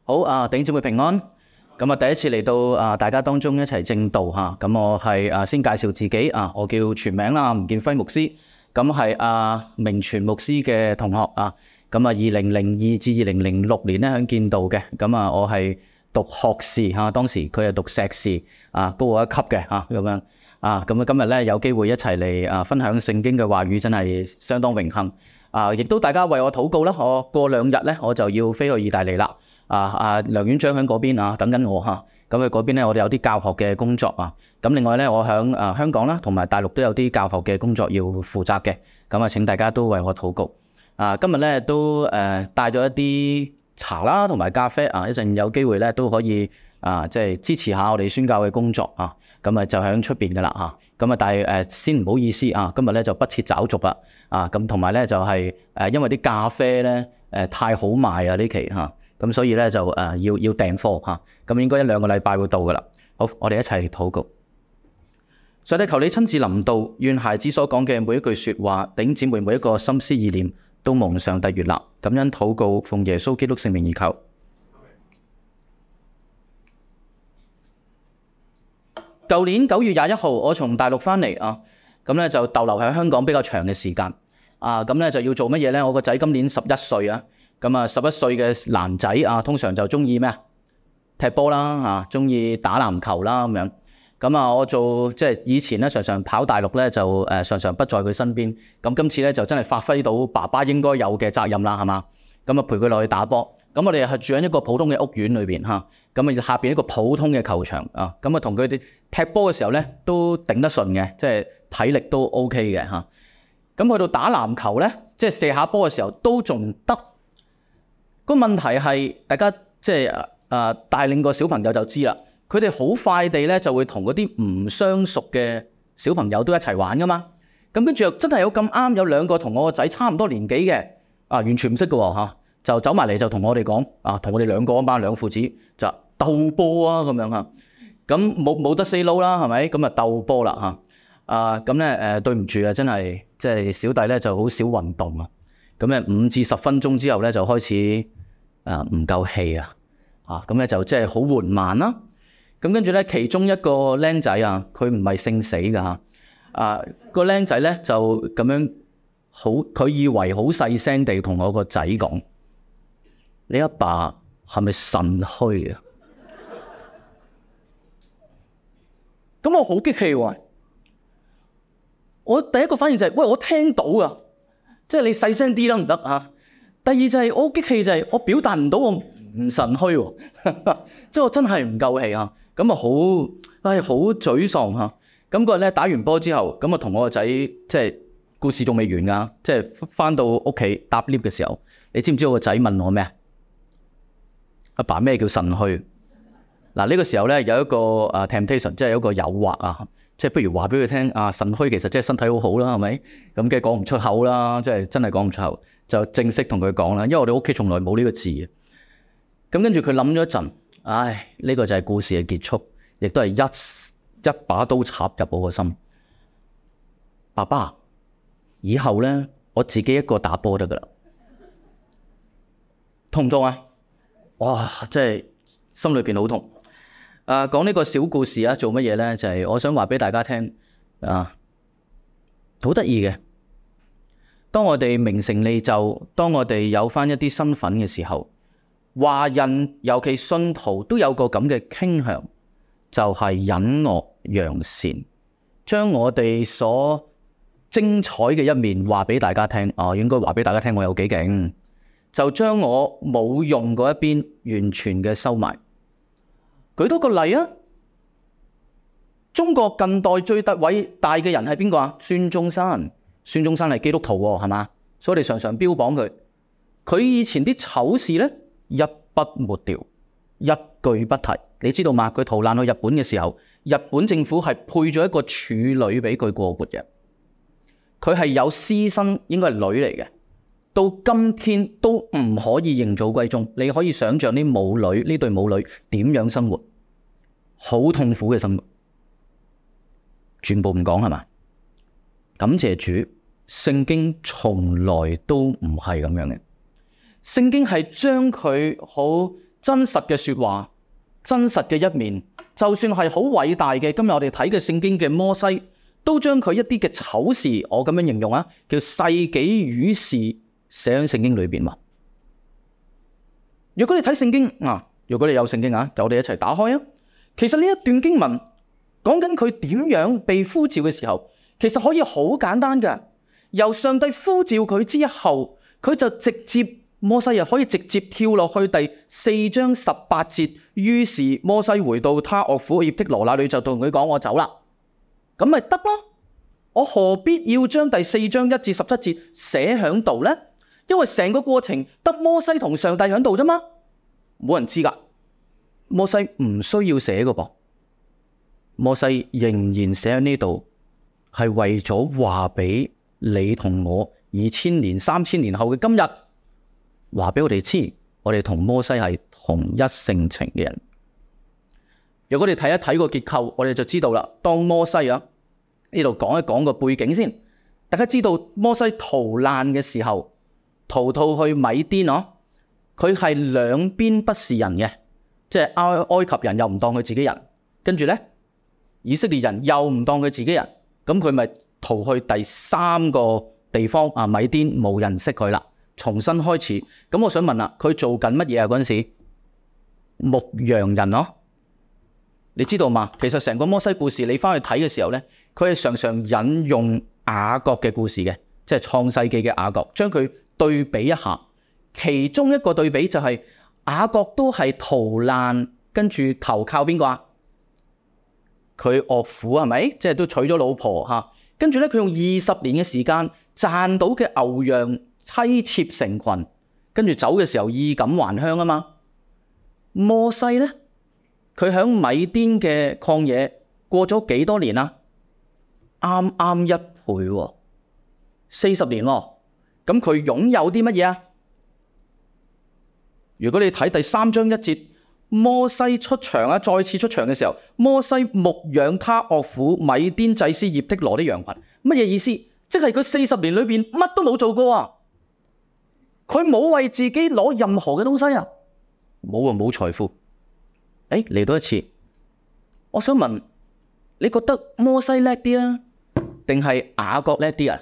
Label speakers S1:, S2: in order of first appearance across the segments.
S1: 好啊，弟兄姊妹平安。咁啊，第一次嚟到大家當中一齊正道嚇。咁我係先介紹自己啊，我叫全名啦，吳建輝牧師。咁係明傳牧師嘅同學啊。咁啊，2002至2006年咧喺建道嘅。咁啊，我係讀學士嚇，當時佢係讀碩士啊，高我一級嘅嚇咁樣啊。咁啊，今日咧有機會一齊嚟分享聖經嘅話語，真係相當榮幸啊！亦都大家為我禱告啦。我過2日咧我就要飛去意大利啦。梁院長喺嗰邊等緊我嚇，咁佢嗰邊咧我哋有啲教學嘅工作啊，咁另外咧我喺香港啦同埋大陸都有啲教學嘅工作要負責嘅，咁啊請大家都為我禱告。今日咧都帶咗一啲茶啦同埋咖啡啊，一陣有機會咧都可以即係支持下我哋宣教嘅工作啊，咁啊就喺出邊噶啦嚇，咁啊但係先唔好意思啊，今日咧就不設找續啦咁同埋咧就係因為啲咖啡咧太好賣啊呢期嚇。咁所以咧就要訂貨嚇，咁應該1-2個禮拜會到噶啦。好，我哋一齊禱告。上帝，求你親自臨到，願孩子所講嘅每一句説話，弟兄姊妹每一個心思意念，都蒙上帝悅納。感恩禱告，奉耶穌基督聖名而求。舊年9月21號，我從大陸翻嚟咁咧就逗留喺香港比較長嘅時間咁咧就要做乜嘢咧？我個仔今年11歲咁啊，11歲嘅男仔通常就中意咩踢波啦中意打籃球啦咁樣。咁啊，我做即係以前咧，常常跑大陸咧，就常常不在佢身邊。咁今次咧就真係發揮到爸爸應該有嘅責任啦，係嘛？咁啊，陪佢落去打波。咁我哋係住喺一個普通嘅屋苑裏邊咁啊下邊一個普通嘅球場咁啊同佢哋踢波嘅時候咧都頂得順嘅，即係體力都 OK 嘅咁去到打籃球咧，即係射下波嘅時候都仲得。個問題係大家即係帶領個小朋友就知啦，佢哋好快地咧就會同嗰啲唔相熟嘅小朋友都一齊玩噶嘛。咁跟住又真係有咁啱有2個同我個仔差唔多年紀嘅完全唔識嘅喎就走埋嚟就同我哋講同我哋2個班兩父子就鬥波咁樣咁冇得 say no 啦，係咪？咁啊鬥波啦咁咧對唔住真係即係小弟咧就好少運動咁咧5至10分鐘之後咧就開始唔夠氣咁咧就即係好緩慢啦。咁跟住咧其中一個僆仔佢唔係姓死㗎個僆仔咧就咁樣佢以為好細聲地同我個仔講：你阿爸係咪腎虛啊？咁我好激氣喎！我第一個反應就係：喂，我聽到啊！即係你細聲啲得唔得第二就係我好激氣，就係我表達唔到我唔腎虛喎，即係我真係唔夠氣咁啊好沮喪咁嗰日咧打完波之後，咁啊同我個仔即係故事仲未完㗎，即係返到屋企搭 lift 嘅時候，你知唔知我個仔問我咩？阿爸，咩叫腎虛？嗱，呢個時候咧有一個temptation， 即係有一個誘惑即係不如話俾佢聽腎虛其實即係身體好好啦，係咪？咁梗係講唔出口啦，即係真係講唔出口，就正式同佢講啦。因為我哋屋企從來冇呢個字咁跟住佢諗咗一陣，呢個就係故事嘅結束，亦都係一把刀插入我個心。爸爸，以後咧我自己一個打波得噶啦，痛唔痛啊？哇！真係心裏邊好痛。講呢個小故事做乜嘢咧？就係我想話俾大家聽好得意嘅。當我哋名成利就，當我哋有翻一啲身份嘅時候，華人尤其信徒都有個咁嘅傾向，就係隱惡揚善，將我哋所精彩嘅一面話俾大家聽。應該話俾大家聽我有幾勁，就將我冇用嗰一邊完全嘅收埋。舉多個例中國近代最偉大嘅人係邊個孫中山。孫中山係基督徒係嘛？所以我哋常常標榜佢。佢以前啲醜事咧一筆抹掉，一句不提。你知道嘛？佢逃難去日本嘅時候，日本政府係配咗一個處女俾佢過活嘅。佢係有私生，應該係女嚟嘅。到今天都唔可以認祖歸宗。你可以想象啲母女，呢對母女點樣生活，好痛苦嘅生活，全部唔講係嘛？感謝主，聖經從來都唔係咁樣嘅。聖經係將佢好真實嘅說話，真實嘅一面，就算係好偉大嘅，今日我哋睇嘅聖經嘅摩西，都將佢一啲嘅醜事，我咁樣形容啊，叫世紀愚事寫喺聖經裏邊嘛。如果你睇聖經如果你有聖經就我哋一齊打開啊。其實呢一段經文講緊佢點樣被呼召嘅時候，其實可以好簡單嘅。由上帝呼召佢之後，佢就直接摩西可以直接跳落去第4章18節。於是摩西回到他岳父葉忒羅那裏，就同佢講：我走啦，咁咪得咯。我何必要將第4章1至17節寫喺度呢？因為成個過程得摩西同上帝喺度啫嘛，冇人知噶。摩西唔需要寫噶噃，摩西仍然寫喺呢度，係為咗話俾你同我2000年、3000年後嘅今日，話俾我哋知，我哋同摩西係同一性情嘅人。如果你睇一睇個結構，我哋就知道啦。當摩西呢度講一講個背景先，大家知道摩西逃難嘅時候，逃到去米甸佢係兩邊不是人嘅。即係埃及人又唔當佢自己人，跟住呢，以色列人又唔當佢自己人，咁佢咪逃去第3個地方米甸，冇人識佢啦，重新開始。咁我想問啦，佢做緊乜嘢嗰陣時？牧羊人你知道嘛？其實成個摩西故事你翻去睇嘅時候呢，佢係常常引用雅各嘅故事嘅，即係創世記嘅雅各，將佢對比一下。其中一個對比就係雅各都係逃難，跟住投靠邊個佢岳父係咪？即係都娶咗老婆跟住咧，佢用20年嘅時間賺到嘅牛羊妻妾成群，跟住走嘅時候衣錦還鄉啊嘛。摩西咧，佢喺米甸嘅曠野過咗幾多年啊？啱啱1倍，40年喎。咁佢擁有啲乜嘢啊？如果你睇第3章1節，摩西出場再次出場嘅時候，摩西牧養他岳父米甸祭司葉忒羅的羊群，乜嘢意思？即係佢40年裏邊乜都冇做過啊！佢冇為自己攞任何嘅東西啊，冇財富。嚟到一次，我想問，你覺得摩西叻啲啊，定係雅各叻啲啊？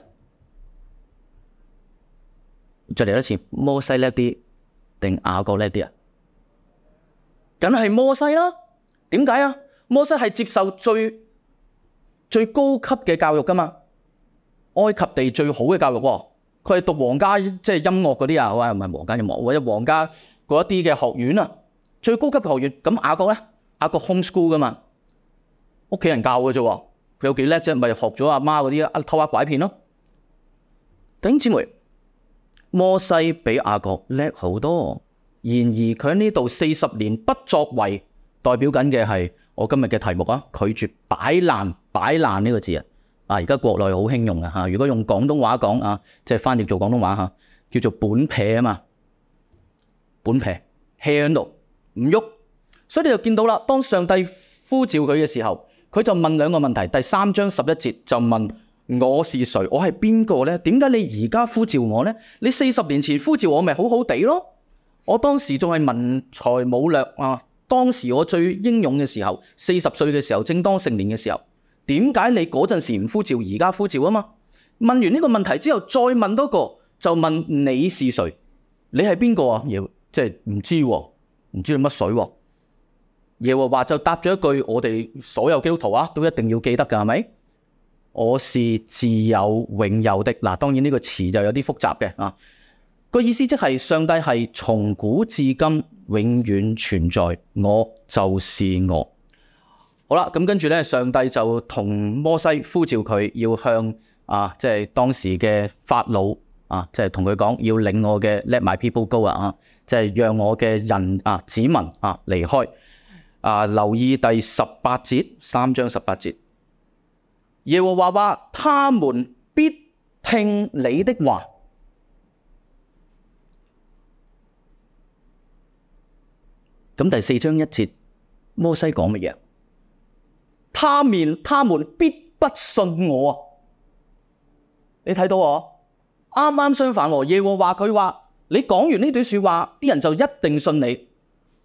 S1: 再嚟多次，摩西叻啲定雅各叻啲啊？梗係摩西啦。點解啊？摩西係接受最高級嘅教育噶嘛，埃及地最好嘅教育喎。佢係讀皇家即係音樂嗰啲唔係皇家音樂，或者皇家嗰一啲嘅學院啊，最高級嘅學院。咁雅各咧，雅各 homeschool 噶嘛，屋企人教嘅啫。佢有幾叻啫？咪學咗阿媽嗰啲偷呃拐騙咯。弟兄姊妹，摩西比雅各叻好多。然而佢喺呢度40年不作為，代表緊嘅係我今日嘅題目拒絕擺爛呢個字啊！而家國內好興用啊！如果用廣東話講即係翻譯做廣東話叫做本撇啊嘛，本撇 hea 喺度唔喐。所以你就見到啦，當上帝呼召佢嘅時候，佢就問2個問題。第3章11節就問：我是誰？我係邊個呢？點解你而家呼召我呢？你40年前呼召我咪好好地咯？我當時仲係文才武略當時我最英勇嘅時候，40歲嘅時候，正當成年嘅時候，點解你嗰陣時唔呼召，而家呼召啊嘛？問完呢個問題之後，再問多個，就問你是誰？你係邊個啊？即係唔知你乜水。耶和華就答咗一句，我哋所有基督徒都一定要記得㗎，係咪？我是自有永有的。當然呢個詞就有啲複雜嘅個意思，即係上帝係從古至今永遠存在，我就是我。好啦，咁跟住咧，上帝就同摩西呼召佢要向即係當時嘅法老即係同佢講，要領我嘅 Let my people go 即係讓我嘅人子民離開。留意第18節，3章18節，耶和華話：他們必聽你的話。咁第4章1節，摩西講乜嘢？他們必不信我。你睇到啱啱相反。耶和華佢話：你講完呢段說話，啲人就一定信你。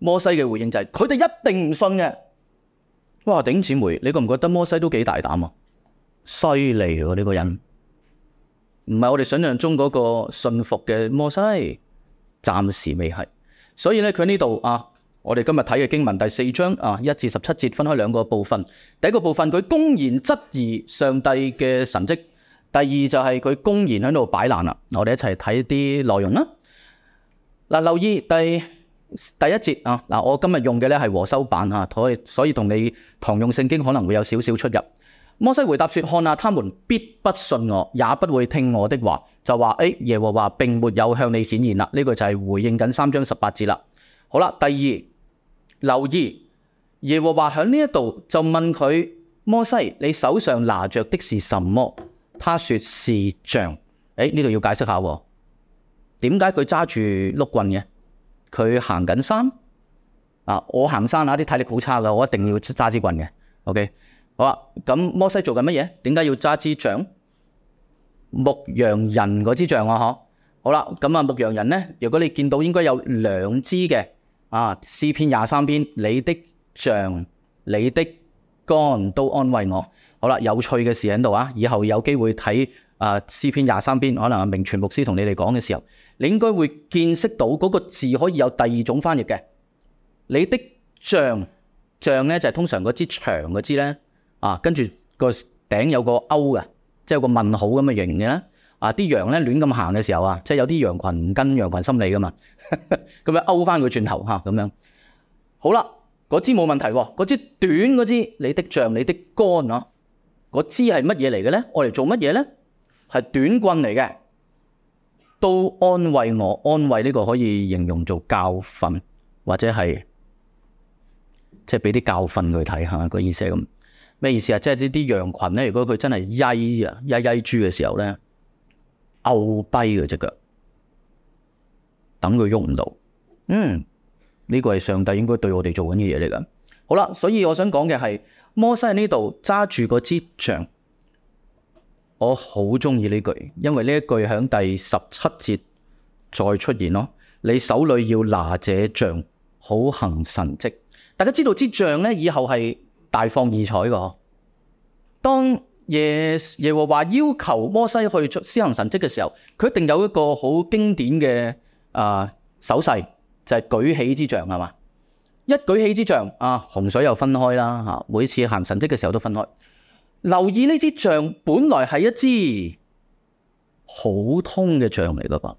S1: 摩西嘅回應就係佢哋一定唔信嘅。哇！弟兄姊妹，你覺唔覺得摩西都幾大膽啊？犀利喎呢個人，唔係我哋想象中嗰個信服嘅摩西，暫時未係。所以咧，佢呢度啊，我哋今日睇嘅經文第4章啊1至17節分開兩個部分。第一個部分佢公然質疑上帝嘅神蹟，第二就係佢公然喺度擺爛啦。我哋一齊睇啲內容啦。嗱，留意第一節啊，嗱，我今日用嘅咧係和修版嚇，所以同你堂用聖經可能會有少少出入。摩西回答說：看啊，他們必不信我，也不會聽我的話。就話耶和華並沒有向你顯現啦。呢個就係回應緊3章18節啦。好啦，第二，留意耶和華喺呢一度就問佢：摩西，你手上拿着的是什麼？他說是杖。呢度要解釋下喎，點解佢揸住碌棍嘅？佢行緊山啊！我行山啊，啲體力好差噶，我一定要揸支棍嘅。OK。好啦，咁摩西做緊乜嘢？點解要揸支杖？牧羊人嗰支杖啊，嗬。好啦，咁啊，牧羊人咧，如果你見到應該有2支嘅啊，詩篇23篇，你的杖、你的竿都安慰我。好啦，有趣嘅事喺度啊，以後有機會睇詩篇23篇，可能阿明全牧師同你哋講嘅時候，你應該會見識到嗰個字可以有第2種翻譯嘅。你的杖，杖咧就係通常嗰支長嗰支咧。跟住個頂有個勾嘅，即係有個問號咁嘅形嘅咧。啲羊咧亂咁行嘅時候啊，即係有啲羊群唔跟羊群心理噶嘛，咁樣勾翻佢轉頭嚇咁樣。好啦，嗰支冇問題喎，嗰支短嗰支，你的杖、你的竿啊，嗰支係乜嘢嚟嘅咧？我嚟做乜嘢咧？係短棍嚟嘅，都安慰我。安慰呢個可以形容做教訓，或者係即係俾啲教訓佢睇下，個意思係咁。咩意思啊？即係呢啲羊群咧，如果佢真係曳豬嘅時候咧，拗跛佢隻腳，等佢喐唔到。呢個係上帝應該對我哋做緊嘅嘢嚟噶。好啦，所以我想講嘅係摩西喺呢度揸住嗰支杖，我好中意呢句，因為呢一句喺第17節再出現咯。你手裏要拿這杖，好行神蹟。大家知道支杖咧，以後係大放異彩噶。當耶和華要求摩西去施行神蹟嘅時候，佢一定有一個好經典嘅手勢，就係舉起支杖，係嘛？一舉起支杖洪水又分開啦，每次行神蹟嘅時候都分開。留意呢支杖本來係一支普通嘅杖嚟噶噃，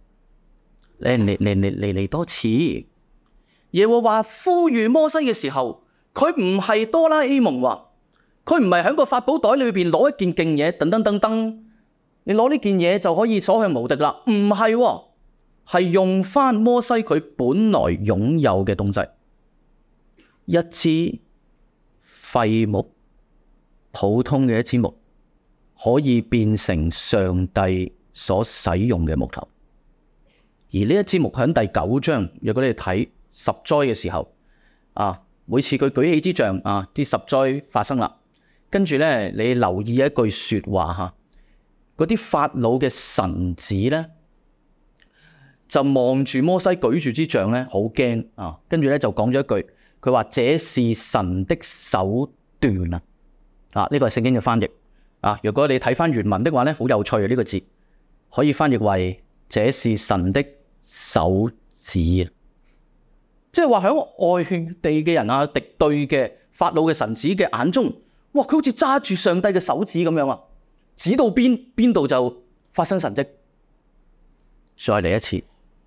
S1: 嚟多次。耶和華呼籲摩西嘅時候，佢唔係哆啦 A 夢話，佢唔係喺個法寶袋裏邊攞一件勁嘢，噔，你攞呢件嘢就可以所向無敵啦。唔係，係用翻摩西佢本來擁有嘅東西，一支廢木，普通嘅一支木，可以變成上帝所使用嘅木頭。而呢一支木喺第9章，如果你睇10災嘅時候，每次佢舉起支杖，啲10災發生啦。跟住咧，你留意一句說話吓，嗰啲法老嘅臣子咧，就望住摩西舉住支杖咧，好驚啊！跟住咧就講咗一句，佢話這是神的手段啊！呢個係聖經嘅翻譯啊。如果你睇翻原文的話咧，好有趣啊！呢個字可以翻譯為這是神的手指啊。即係話喺外地嘅人敵對嘅法老嘅臣子嘅眼中，哇！佢好似揸住上帝嘅手指咁樣啊，指到邊度就發生神蹟。再嚟一次，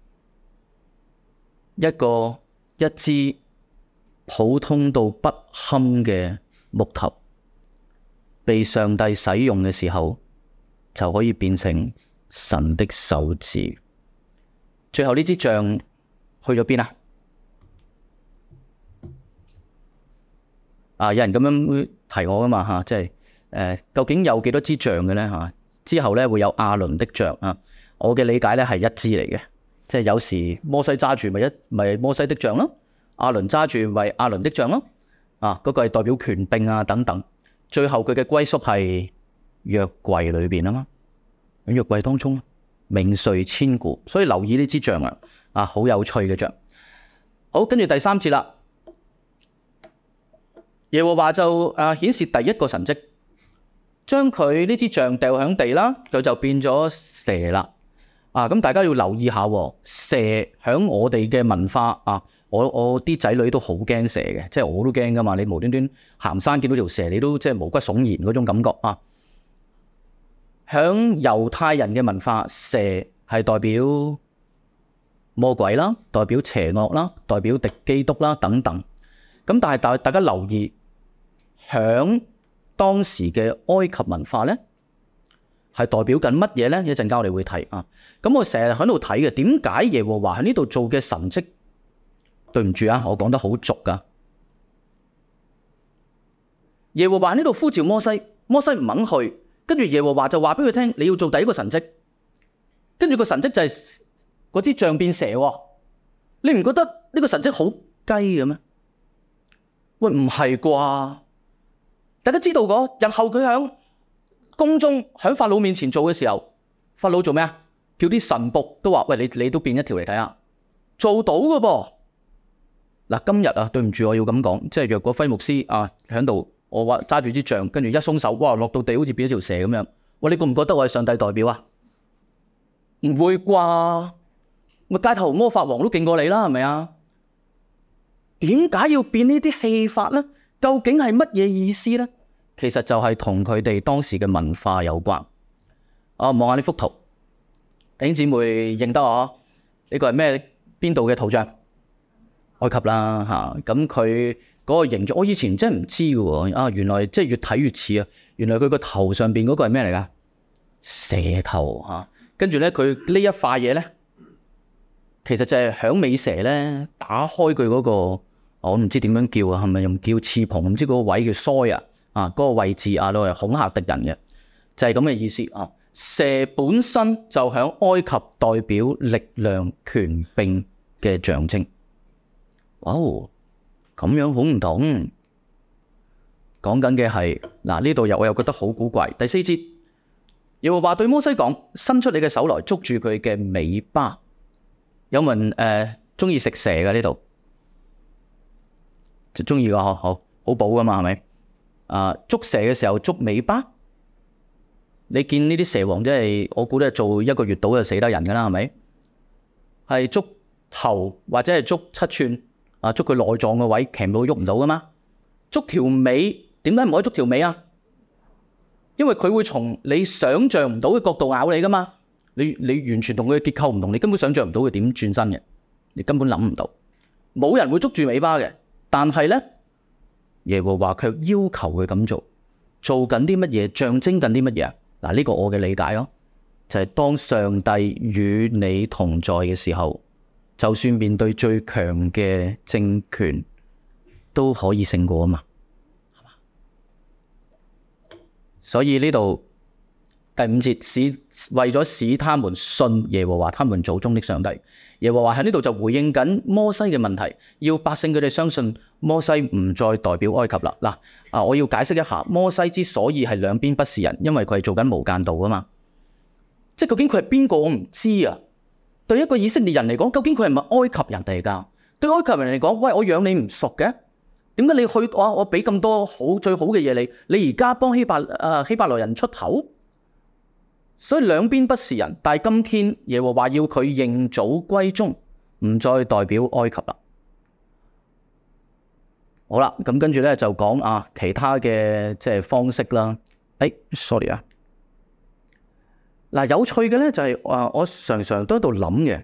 S1: 一支普通到不堪嘅木頭，被上帝使用嘅時候，就可以變成神的手指。最後呢支杖去咗邊啊？有人咁樣提我噶嘛即係究竟有幾多支杖嘅咧之後咧會有亞倫的杖我嘅理解咧係一支嚟嘅，即係有時摩西揸住咪摩西的杖咯，亞倫揸住咪亞倫的杖咯，嗰個係代表權柄等等。最後佢嘅歸宿係約櫃裏邊啊嘛，喺約櫃當中名垂千古，所以留意呢支杖好有趣嘅杖。 好，跟住第3節啦。耶和華就顯示第一個神蹟，將佢呢支杖掉響地啦，佢就變咗蛇啦。咁大家要留意下，蛇響我哋嘅文化我啲仔女都好驚蛇嘅，即係我都驚噶嘛。你無端端行山見到條蛇，你都即係毛骨悚然嗰種感覺啊。響猶太人嘅文化，蛇係代表魔鬼啦，代表邪惡啦，代表敵基督啦等等。咁但係大家留意，響當時嘅埃及文化咧，係代表緊乜嘢咧？一陣間我哋會睇啊。咁我成日喺度睇嘅，點解耶和華喺呢度做嘅神蹟？對唔住啊，我講得好俗噶。耶和華喺呢度呼召摩西，摩西唔肯去，跟住耶和華就話俾佢聽，你要做第一個神蹟。跟住個神蹟就係嗰支杖變蛇。你唔覺得呢個神蹟好雞嘅咩？喂，唔係啩？大家知道日後佢喺宮中喺法老面前做嘅時候，法老做咩啊？叫啲臣僕都話：喂，你都變一條嚟睇下，做到嘅噃。嗱，今日對唔住，我要咁講，即係若果輝牧師喺度，我話揸住支杖，跟住一鬆手，哇，落到地好似變咗條蛇咁樣。喂，你覺唔覺得我係上帝代表啊？唔會啩？咪街頭魔法王都勁過你啦，係咪啊？點解要變呢啲戲法呢？究竟係乜嘢意思呢？其實就係同佢哋當時嘅文化有關。望下呢幅圖，弟兄姊妹認得我？呢個係咩？邊度嘅圖像？埃及啦嚇。咁佢嗰個形狀，我以前真係唔知嘅喎。原來即係越睇越似啊！原來佢個頭上邊嗰個係咩嚟㗎？蛇頭嚇。跟住咧，佢呢一塊嘢咧，其實就係響尾蛇咧打開佢嗰個，我唔知點樣叫啊，係咪用叫翅膀？唔知嗰個位叫腮嗰個位置攞嚟恐嚇敵人嘅，就係咁嘅意思啊。蛇本身就響埃及代表力量、權柄嘅象徵。哇，咁樣好唔同。講緊嘅係呢度我又覺得好古怪。第4節，耶和華對摩西講：伸出你嘅手來，捉住佢嘅尾巴。有冇人中意食蛇嘅呢度？就中意個好補噶嘛，係咪？捉蛇嘅時候捉尾巴，你見呢啲蛇王真係，我估都係做1個月到就死得人噶啦，係咪？係捉頭或者係捉7寸捉佢內臟嘅位，鉗到喐唔到噶嘛？捉條尾，點解唔可以捉條尾啊？因為佢會從你想象唔到嘅角度咬你噶嘛。你完全同佢嘅結構唔同，你根本想象唔到佢點轉身嘅，你根本諗唔到。冇人會捉住尾巴嘅，但係咧，耶和華卻要求佢咁做緊啲乜嘢？象徵緊啲乜嘢啊？呢個我嘅理解咯，就係當上帝與你同在嘅時候，就算面對最強嘅政權，都可以勝過啊嘛，係嘛？所以呢度第5節，為咗使他們信耶和華他們祖宗的上帝，耶和華喺呢度就回應緊摩西嘅問題，要百姓佢哋相信摩西唔再代表埃及啦。我要解釋一下，摩西之所以係兩邊不是人，因為佢係做緊無間道啊嘛。即係究竟佢係邊個，我唔知啊。對一個以色列人嚟講，究竟佢係咪埃及人嚟㗎？對埃及人嚟講，喂，我養你唔熟嘅，點解你去我俾咁多最好嘅嘢你而家幫希伯來人出頭？所以兩邊不是人，但係今天耶和華要佢認祖歸宗，唔再代表埃及啦。好啦，咁跟住咧就講其他嘅即係方式啦。sorry 啊。有趣嘅咧就係我常常都喺度諗嘅，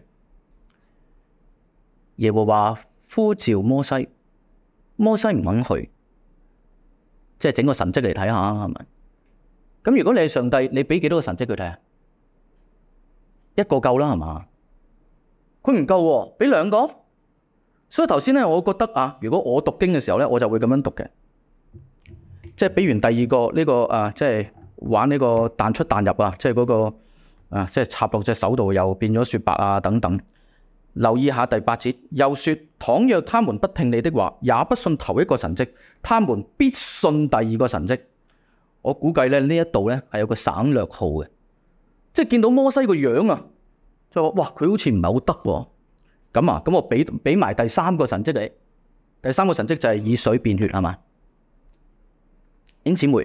S1: 耶和華呼召摩西，摩西唔肯去，即係整個神蹟嚟睇下，係咪？咁如果你係上帝，你俾幾多個神蹟佢睇啊？一個夠啦，係嘛？佢唔夠喎，俾2個。所以頭先咧，我覺得如果我讀經嘅時候咧，我就會咁樣讀嘅，即係俾完第2個呢個即係玩呢個彈出彈入即係嗰個即係插落隻手度又變咗雪白等等。留意下第8節，又說：倘若他們不聽你的話，也不信頭1個神蹟，他們必信第2個神蹟。我估計咧呢一度咧係有個省略號嘅，即係見到摩西個樣就話：哇，佢好似唔係好得喎。 咁我俾埋第三個神蹟你。第三個神蹟就係以水變血，係嘛？弟兄姊妹，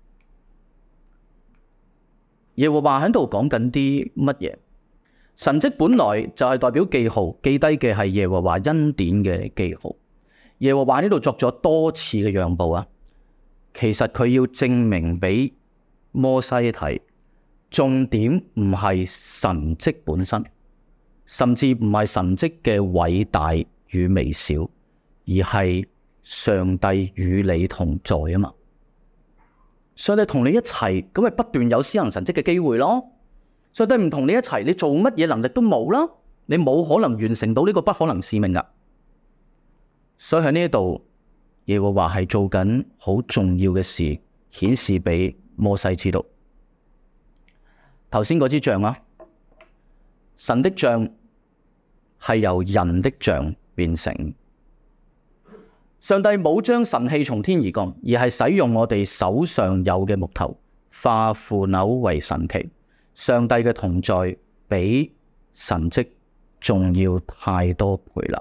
S1: 耶和華喺度講緊啲乜嘢？神蹟本來就係代表記號，記低嘅係耶和華恩典嘅記號。耶和華呢度作咗多次嘅讓步啊，其實佢要證明俾摩西睇，重點唔係神蹟本身，甚至唔係神蹟嘅偉大與微小，而係上帝與你同在啊嘛。上帝同你一齊，咁咪不斷有施行神蹟嘅機會咯。上帝唔同你一齊，你做乜嘢能力都冇啦，你冇可能完成到呢個不可能使命噶。所以喺呢一度，耶和華係做緊好重要嘅事，顯示俾摩西知道。頭先嗰支杖啊，神的杖係由人的杖變成。上帝冇將神器從天而降，而係使用我哋手上有嘅木頭化腐朽為神器。上帝嘅同在比神蹟仲要太多倍啦。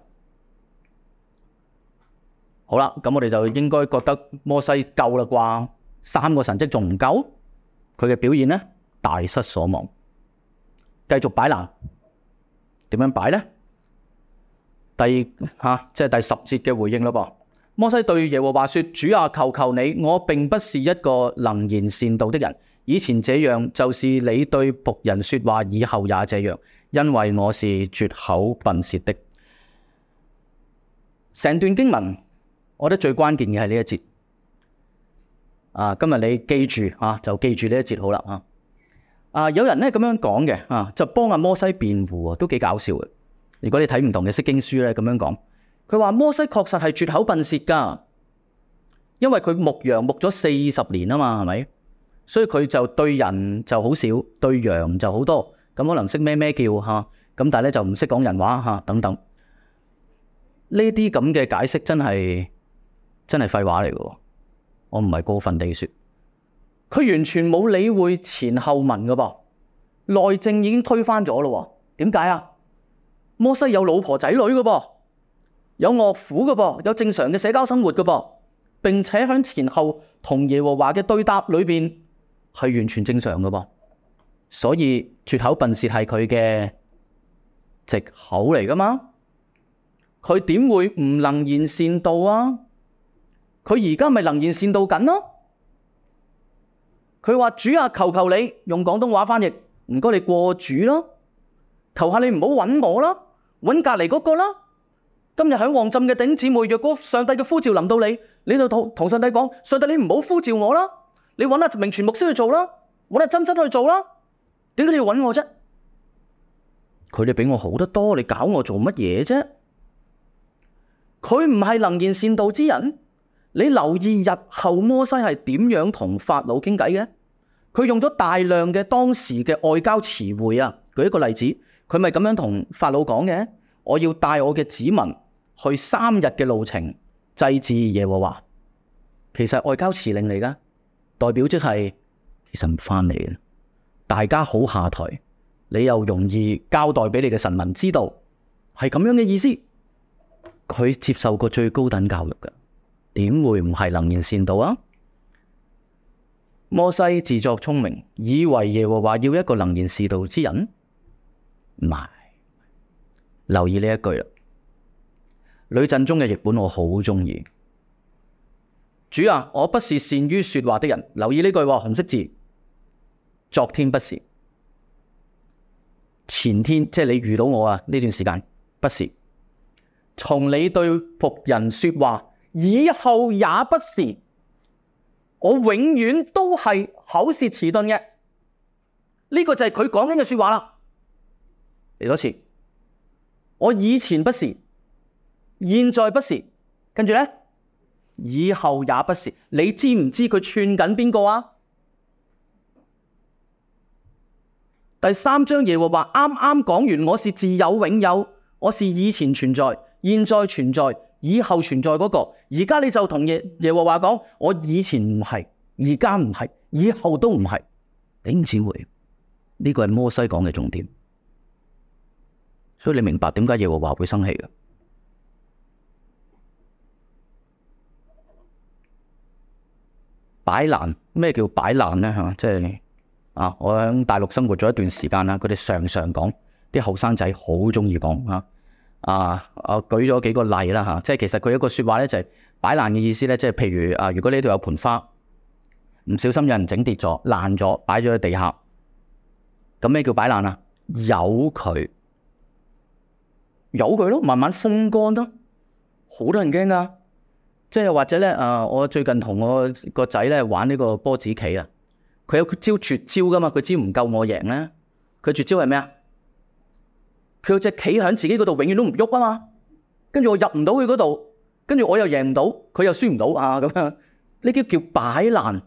S1: 好啦，咁我哋就應該覺得摩西夠啦啩？3個神蹟仲唔夠？佢嘅表現呢，大失所望。繼續擺爛，點樣擺呢？即係第10節嘅回應咯噃。摩西對耶和華說：主啊，求求你，我並不是一個能言善道的人。以前這樣，就是你對僕人說話，以後也這樣，因為我是拙口笨舌的。成段經文，我覺得最關鍵嘅係呢一節。今日你記住就記住呢一節好啦。有人咧咁樣講嘅，就幫阿摩西辯護，都幾搞笑嘅。如果你睇唔同嘅釋經書咧，咁樣講，佢話摩西確實係拙口笨舌噶，因為佢牧羊牧咗40年啊嘛，係咪？所以佢就對人就好少，對羊就好多，咁可能識咩叫咁，但係咧就唔識講人話等等。呢啲咁嘅解釋真係廢話嚟嘅，我唔係過分地說。佢完全冇理會前後文噶噃，內政已經推翻咗咯。點解啊？摩西有老婆仔女噶噃，有岳父噶噃，有正常嘅社交生活噶噃，並且喺前後同耶和華嘅對答裏邊係完全正常噶噃，所以拙口笨舌係佢嘅藉口嚟噶嘛？佢點會唔能言善道啊？佢而家咪能言善道緊咯？佢話：主啊，求求你，用廣東話翻譯，唔該你過主咯，求下你唔好揾我啦，揾隔籬嗰個啦。今日喺旺浸嘅弟兄姊妹，若果上帝嘅呼召臨到你，你就同上帝講：上帝，你唔好呼召我啦，你揾阿明全牧師去做啦，揾阿真去做啦。點解你要揾我啫？佢哋比我好得多，你搞我做乜嘢啫？佢唔係能言善道之人。你留意日後摩西係點樣同法老傾偈嘅？佢用咗大量嘅當時嘅外交詞彙啊。舉一個例子，佢咪咁樣同法老講嘅：我要帶我嘅子民去3日嘅路程祭祀耶和華。其實外交辭令嚟噶，代表即係其實唔翻嚟嘅，大家好下台，你又容易交代俾你嘅臣民知道，係咁樣嘅意思。佢接受過最高等教育噶。點會唔係能言善道啊？摩西自作聰明，以為耶和華要一個能言善道之人，唔係。留意呢一句啦，呂振中嘅譯本我好中意。主啊，我不是善於說話的人。留意呢句話，紅色字，昨天不是，前天即係你遇到我呢段時間不是，從你對僕人說話，以後也不是，我永遠都係口舌遲鈍嘅。呢個就係佢講緊嘅說話啦。嚟多次，我以前不是，現在不是，跟住呢，以後也不是。你知唔知佢串緊邊個啊？第3章耶和華啱啱講完，我是自有永有，我是以前存在，現在存在，以後存在嗰個。而家你就同耶和華講，我以前唔係，而家唔係，以後都唔係。頂姊妹，呢個係摩西講嘅重點。 所以你明白點解耶和華會生氣嘅？擺爛，咩叫擺爛呢？嚇，即係我喺大陸生活咗一段時間啦，佢哋常常講，啲後生仔好中意講嚇。我舉咗幾個例啦嚇，即係其實佢一個説話咧就係擺爛嘅意思咧，即係譬如如果呢度有盆花，唔小心有人整跌咗、爛咗，擺咗喺地下，咁咩叫擺爛啊？由佢咯，慢慢風乾咯，好多人驚噶。即係或者咧，我最近同我個仔咧玩呢個波子棋啊，佢有招絕招噶嘛，佢知唔夠我贏咧，佢絕招係咩啊？佢有隻棋喺自己嗰度，永遠都唔喐啊嘛，跟住我入唔到佢嗰度，跟住我又贏唔到，佢又輸唔到啊咁樣，呢啲叫擺爛。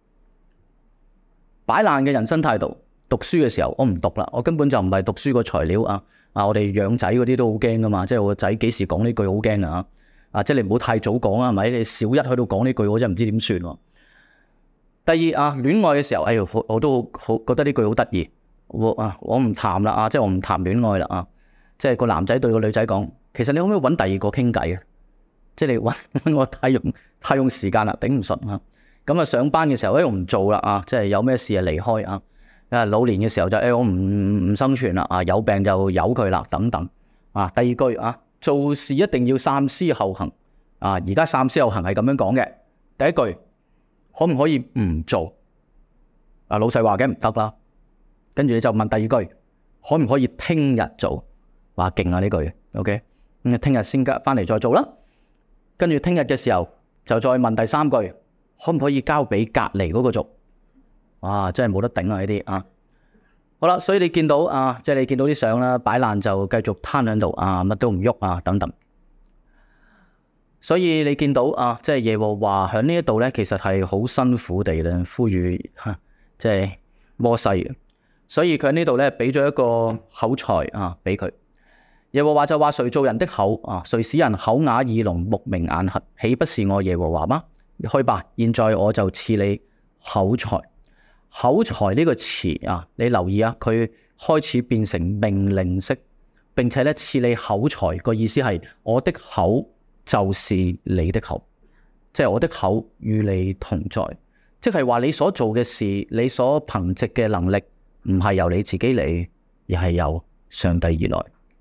S1: 擺爛嘅人生態度。讀書嘅時候我唔讀啦，我根本就唔係讀書個材料啊！我哋養仔嗰啲都好驚噶嘛，即係我個仔幾時講呢句好驚啊！即係你唔好太早講啊，係咪？你小一喺度講呢句，我真係唔知點算。第二戀愛嘅時候，我都好覺得呢句好得意。我唔談啦即係我唔談戀愛啦即係個男仔對個女仔講，其實你可唔可以揾第二個傾偈啊？即係你揾我太用時間啦，頂唔順啊！咁上班嘅時候我唔做啦即係有咩事離開老年嘅時候就我唔生存啦有病就由佢啦等等第二句做事一定要三思後行而家三思後行係咁樣講嘅。第一句可唔可以唔做老細話嘅唔得啦，跟住你就問第二句可唔可以聽日做？話勁呢句 OK 咁聽日先翻嚟再做啦，跟住聽日嘅時候就再問第三句可唔可以交俾隔離嗰個做？哇！真係冇得頂呢啲好啦，所以你見到即係你見到啲相啦，擺爛就繼續攤喺度乜都唔喐等等。所以你見到即係耶和華喺呢一度咧，其實係好辛苦地咧呼籲即係摩西。所以佢喺呢度咧俾咗一個口才俾佢。耶和華就話：誰造人的口誰使人口啞耳聾目明眼瞎？豈不是我耶和華嗎？去吧，現在我就賜你口才。口才呢個詞你留意佢開始變成命令式，並且咧賜你口才個意思係我的口就是你的口，即係我的口與你同在，即係話你所做嘅事，你所憑藉嘅能力唔係由你自己嚟，而係由上帝而來。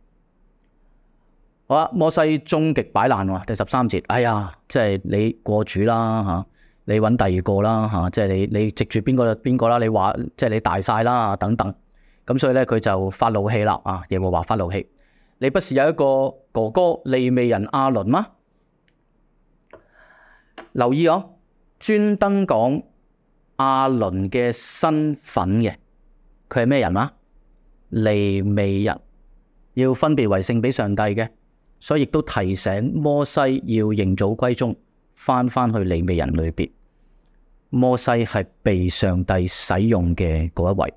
S1: 好啦，摩西終極擺爛第13節，哎呀，即係你過主啦你揾第二個啦即係你藉住邊個啦？你話即係你大晒啦等等，咁所以咧佢就發怒氣啦耶和華發怒氣，你不是有一個哥哥利未人亞倫嗎？留意專登講亞倫嘅身份嘅，佢係咩人嗎？利未人，要分別為聖俾上帝嘅，所以亦都提醒摩西要認祖歸宗，翻去利未人裏邊。摩西係被上帝使用嘅嗰一位，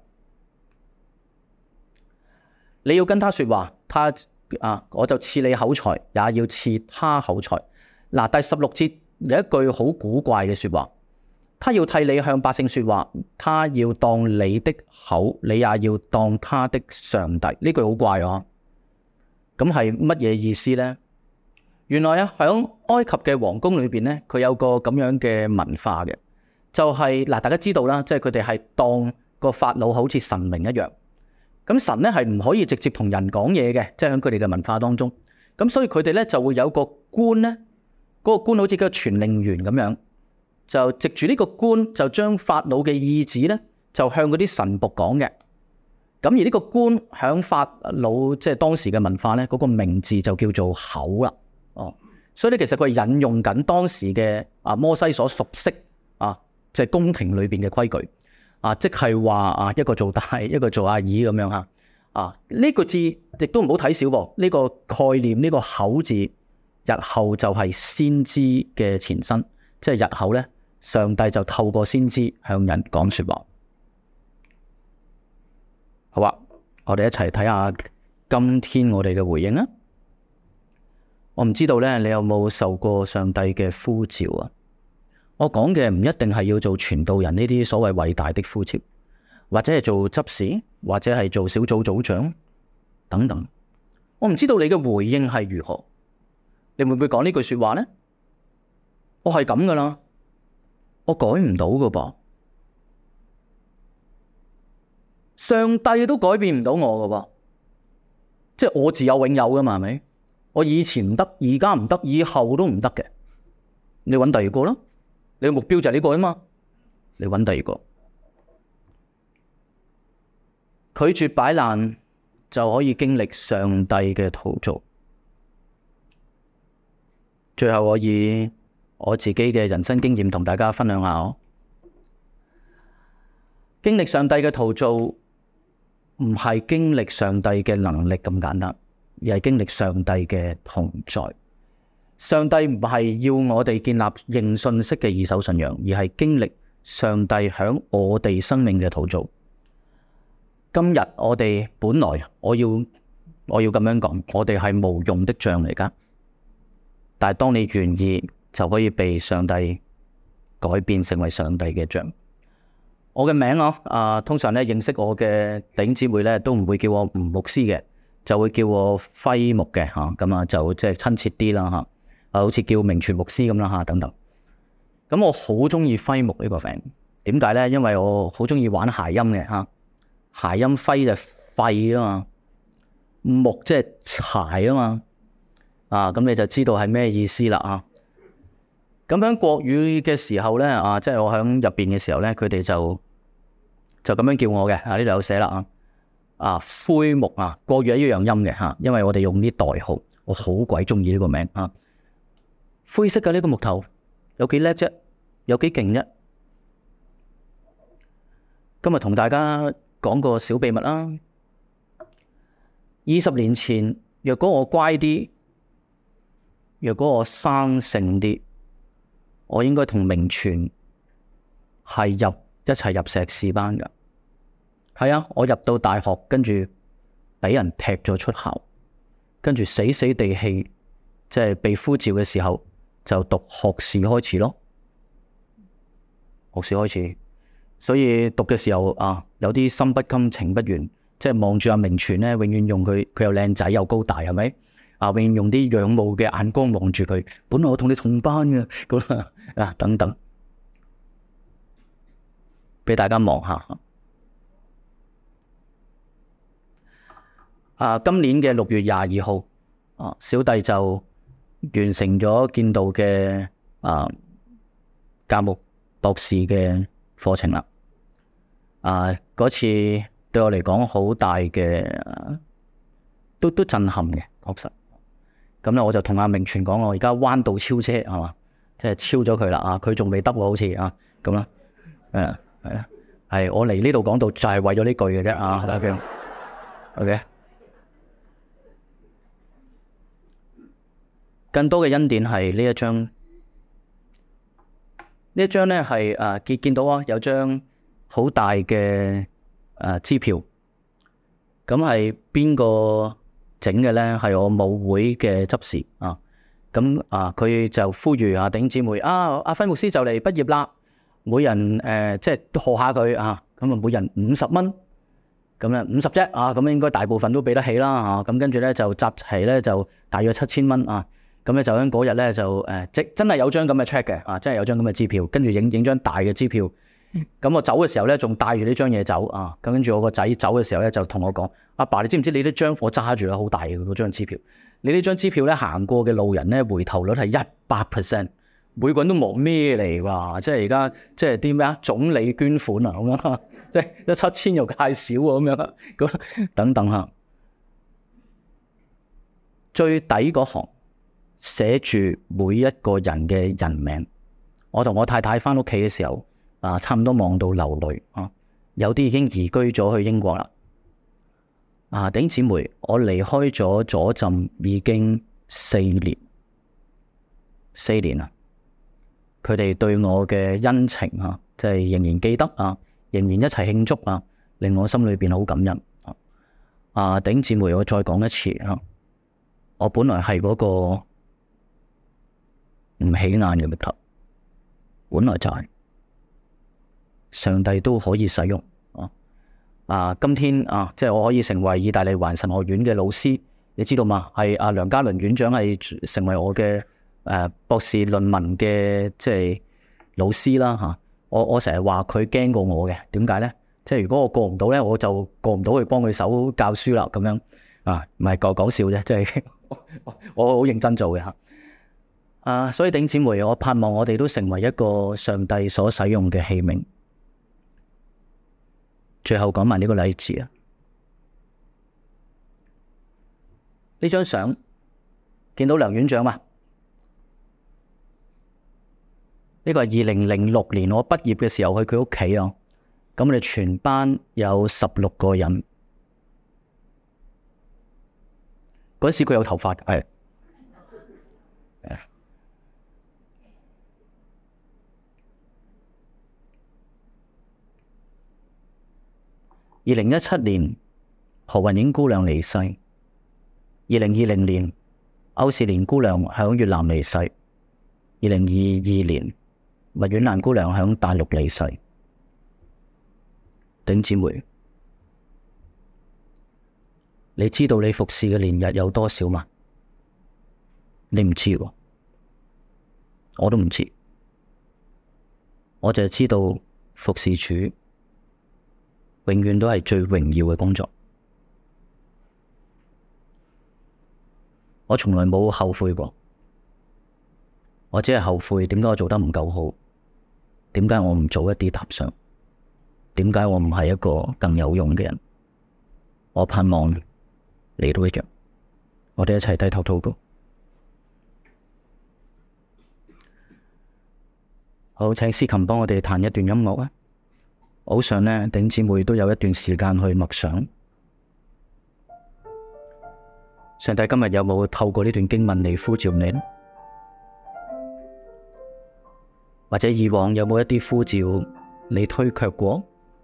S1: 你要跟他說話，我就賜你口才，也要賜他口才。第16節有一句好古怪嘅說話，他要替你向百姓說話，他要當你的口，你也要當他的上帝。呢句好怪咁係乜嘢意思呢？原來響埃及嘅皇宮裏邊呢，佢有個咁樣嘅文化嘅。就係大家知道啦，即係佢哋係當個法老好似神明一樣。咁神咧係唔可以直接同人講嘢嘅，即係喺佢哋嘅文化當中。咁所以佢哋咧就會有個官咧，嗰個官好似個傳令員咁樣，就藉住呢個官就將法老嘅意旨咧就向嗰啲臣僕講嘅。咁而呢個官響法老即係當時嘅文化咧，嗰個名字就叫做口啦。所以咧其實佢係引用緊當時嘅摩西所熟悉即係宮廷裏邊嘅規矩即係話一個做大，一個做阿二咁樣呢個字亦都唔好睇小噃。呢個概念，呢個口字，日後就係先知嘅前身，即係日後咧，上帝就透過先知向人講說話。好我哋一齊睇下今天我哋嘅回應啊！我唔知道咧，你有冇受過上帝嘅呼召我講嘅唔一定係要做傳道人呢啲所謂偉大的呼召，或者係做執事，或者係做小組組長等等。 我唔知道你嘅回應係如何，你會唔會講呢句說話呢？我係咁噶啦，我改唔到噶噃，上帝都改變唔到我噶噃，即係我自有永有噶嘛，係咪？我以前唔得，而家唔得，以後都唔得嘅，你揾第二個啦，你嘅目標就係呢個啊嘛，你揾第二個，拒絕擺爛就可以經歷上帝嘅陶造。最後我以我自己嘅人生經驗同大家分享下，經歷上帝嘅陶造唔係經歷上帝嘅能力咁簡單，而係經歷上帝嘅同在。上帝唔係要我哋建立認信式嘅二手信仰，而係經歷上帝響我哋生命嘅陶造。今日我哋本來我要咁樣講，我哋係無用的像嚟噶，但係當你願意，就可以被上帝改變成為上帝嘅像。我嘅名通常咧認識我嘅弟兄姊妹咧都唔會叫我吳牧師嘅，就會叫我輝牧嘅吓，咁啊就即係親切啲啦吓，好似叫明全牧師咁啦吓等等。咁我好中意輝牧呢個名，點解咧？因為我好中意玩諧音嘅吓，諧音輝就廢啊嘛，牧即係柴啊嘛，咁你就知道係咩意思啦啊！咁喺國語嘅時候咧，即係我喺入邊嘅時候咧，佢哋就咁樣叫我嘅，呢度有寫啦灰牧國語係一樣音嘅吓，因為我哋用啲代號，我好鬼中意呢個名灰色嘅呢個木頭有幾叻啫，有幾勁啫。今日同大家講個小秘密啦。20年前，若果我乖啲，若果我生性啲，我應該同明全係一齊入碩士班噶。係啊，我入到大學，跟住俾人踢咗出校，跟住死死地氣，即係被呼召嘅時候就讀學士開始咯。學士開始，所以讀嘅時候有啲心不甘情不願，即係望住阿明全咧，永遠用佢又靚仔又高大，係咪？永遠用啲仰慕嘅眼光望住佢。本來我同你同班嘅，咁等等，俾大家望下。今年嘅6月22號，小弟就完成咗建道嘅教牧博士嘅課程啦。嗰次對我嚟講好大嘅，都震撼嘅，確實。咁咧我就同阿明全講，我而家彎道超車係嘛，即係超咗佢啦。佢仲未得喎，好似咁啦。係我嚟呢度講道就係為咗呢句嘅啫。OK。更多嘅恩典係呢一張，呢一張咧係見到有張好大嘅支票，咁係邊個整嘅咧？係我母會嘅執事咁佢就呼籲弟兄姊妹阿輝牧師就嚟畢業啦，每人即係賀下佢咁每人50蚊，咁咧50啫咁應該大部分都俾得起啦咁跟住咧就集齊咧就大約7000蚊咁咧就喺嗰日咧就真係有張咁嘅 check 嘅真係有張咁嘅支票，跟住影張大嘅支票。咁我走嘅時候咧，仲帶住呢張嘢走咁跟住我個仔走嘅時候咧，就同我講：阿爸，你知唔知你呢張我揸住啦，好大嘅嗰張支票。你呢張支票咧，行過嘅路人咧，回頭率係100%，每個人都望咩嚟㗎？即係而家即係啲咩總理捐款咁樣，即係一7000又太少咁樣咁等等下。最底嗰行寫住每一個人嘅人名。我同我太太翻屋企嘅時候差唔多望到流淚有啲已經移居咗去英國啦。弟兄姊妹，我離開咗左浸已經4年啦。佢哋對我嘅恩情即係仍然記得仍然一齊慶祝令我心裏邊好感恩。弟兄姊妹，我再講一次我本來係嗰個唔起眼嘅木頭，本來就係上帝都可以使用今天即係我可以成為意大利環神學院嘅老師， 你知道嘛？係阿梁家麟院長係成為我嘅博士論文嘅即係老師啦嚇。我成日話佢驚過我嘅，點解咧？即係如果我過唔到咧，我就過唔到去幫佢手教書啦咁樣啊，唔係講笑啫，即係我好認真做嘅嚇。所以弟兄姊妹，我盼望我哋都成為一個上帝所使用嘅器皿。最後講埋呢個例子啊，呢張相見到梁院長嘛？呢個係2006年我畢業嘅時候去佢屋企啊。咁我哋全班有16個人，嗰時佢有頭髮，係2017年何雲英姑娘離世，2020年歐士蓮姑娘響越南離世，2022年麥婉蘭姑娘響大陸離世。弟兄姊妹，你知道你服侍嘅年日有多少嗎？你唔知喎，我都唔知，我就係知道服侍主永遠都係最榮耀嘅工作。我從來冇後悔過，我只係後悔點解我做得唔夠好，點解我唔早一啲踏上，點解我唔係一個更有用嘅人？我盼望你都一樣，我哋一齊低頭禱告。好，請司琴幫我哋彈一段音樂啊！好想呢，弟兄姊妹都有一段時間去默想。上帝今日有冇透過呢段經文嚟呼召你呢？或者以往有冇一啲呼召你推卻過？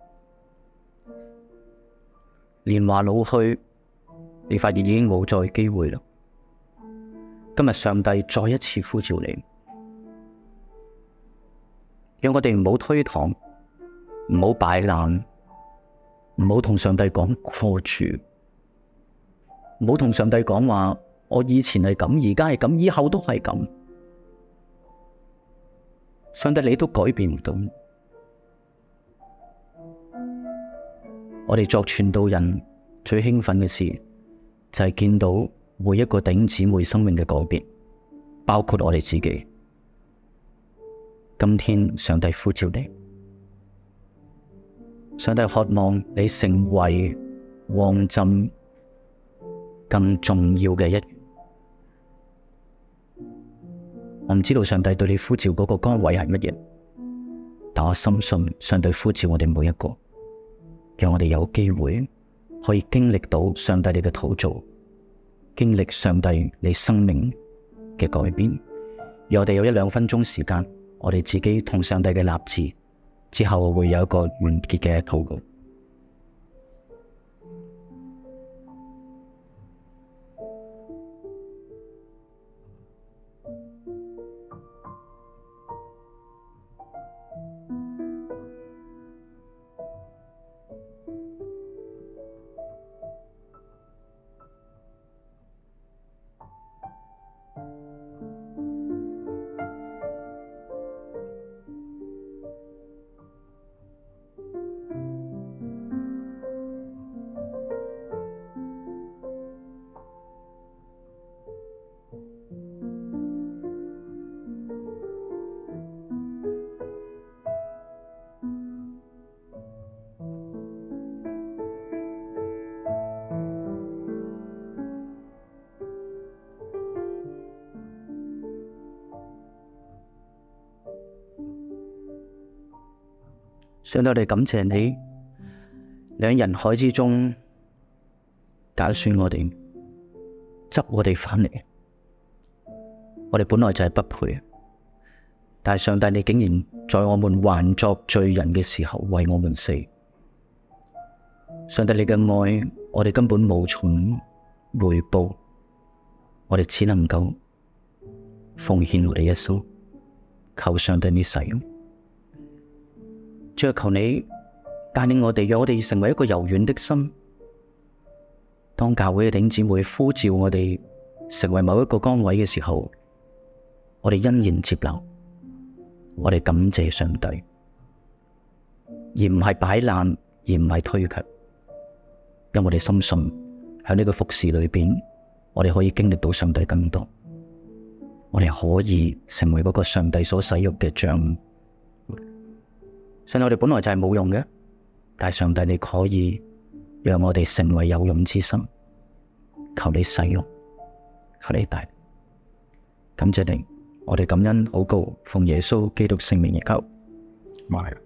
S1: 年華老去，你發現已經冇再機會啦。今日上帝再一次呼召你，讓我哋唔好推搪，唔好擺爛，唔好同上帝講過住，唔好同上帝講話我以前係咁，而家係咁，以後都係咁。上帝你都改變唔到。我哋作傳道人最興奮嘅事就係見到每一個弟兄姊妹生命嘅改變，包括我哋自己。今天上帝呼召你，上帝渴望你成為旺浸更重要嘅一員。我唔知道上帝對你呼召嗰個崗位係乜嘢，但我深信上帝呼召我哋每一個，讓我哋有機會可以經歷到上帝你嘅陶造，經歷上帝你生命嘅改變。讓我哋有1-2分鐘時間，我哋自己同上帝嘅立志，之後會有一個完結嘅禱告。上帝，我哋感謝你，你喺人海之中揀選我哋，執我哋返嚟。我哋本來就係不配，但係上帝你竟然在我們還作罪人嘅時候為我們死。上帝你嘅愛，我哋根本無從回報，我哋只能夠奉獻我哋一生，求上帝你使用。主啊，求你帶領我哋，讓我哋成為一個柔軟的心， 當教會嘅弟兄姊妹呼召我哋成為某一個崗位嘅時候，我哋欣然接納，我哋感謝上帝，而唔係擺爛，而唔係推卻。因為我哋深信喺呢個服侍裏邊，我哋可以經歷到上帝更多，我哋可以成為嗰個上帝所使用嘅帳幕。所以我哋本來就係冇用嘅，但係上帝你可以讓我哋成為有用之心，求你使用，求你帶，感謝你，我哋感恩禱告，奉耶穌基督聖名而求。